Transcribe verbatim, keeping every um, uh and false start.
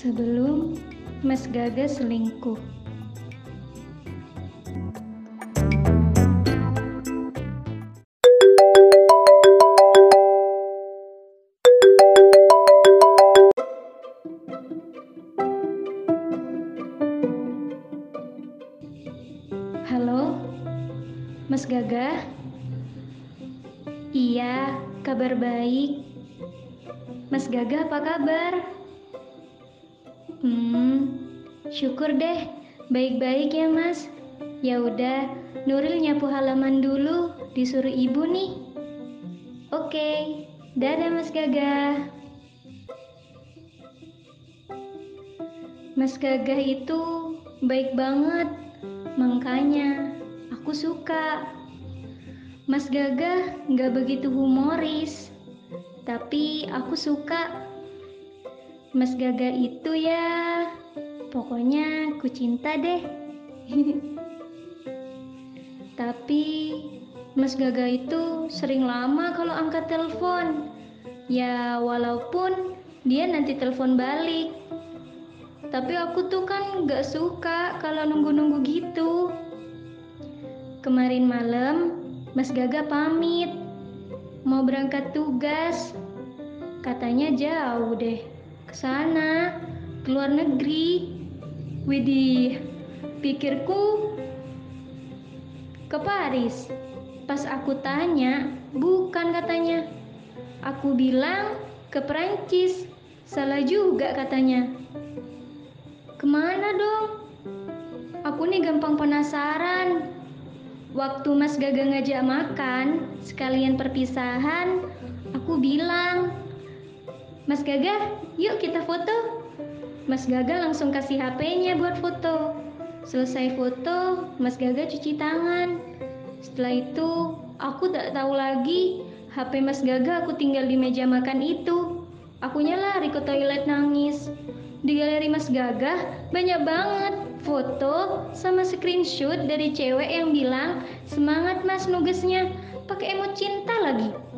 Sebelum Mas Gaga selingkuh. Halo, Mas Gaga? Iya, kabar baik. Mas Gaga apa kabar? Hmm, syukur deh, baik-baik ya Mas. Ya udah, Nuril nyapu halaman dulu, disuruh ibu nih. Oke, dadah Mas Gaga. Mas Gaga itu baik banget, makanya aku suka. Mas Gaga nggak begitu humoris, tapi aku suka. Mas Gaga itu ya, pokoknya ku cinta deh. Tapi Mas Gaga itu sering lama kalau angkat telepon. Ya walaupun dia nanti telepon balik. Tapi aku tuh kan gak suka kalau nunggu-nunggu gitu. Kemarin malam Mas Gaga pamit mau berangkat tugas. Katanya jauh deh, ke sana, ke luar negeri. Widih, pikirku ke Paris. Pas aku tanya, bukan katanya. Aku bilang ke Perancis. Salah juga katanya. Kemana dong? Aku nih gampang penasaran. Waktu Mas Gaga ngajak makan, sekalian perpisahan, aku bilang, Mas Gaga, yuk kita foto. Mas Gaga langsung kasih H P-nya buat foto. Selesai foto, Mas Gaga cuci tangan. Setelah itu, aku tak tahu lagi H P Mas Gaga aku tinggal di meja makan itu. Akunya lari ke toilet nangis. Di galeri Mas Gaga banyak banget foto sama screenshot dari cewek yang bilang, semangat Mas nugasnya, pakai emot cinta lagi.